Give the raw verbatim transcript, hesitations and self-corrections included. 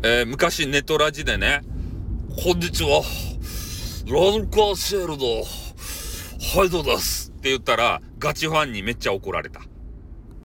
えー、昔ネトラジでね、こんにちは、ラドカーシェールド、ハイドですって言ったら、ガチファンにめっちゃ怒られた。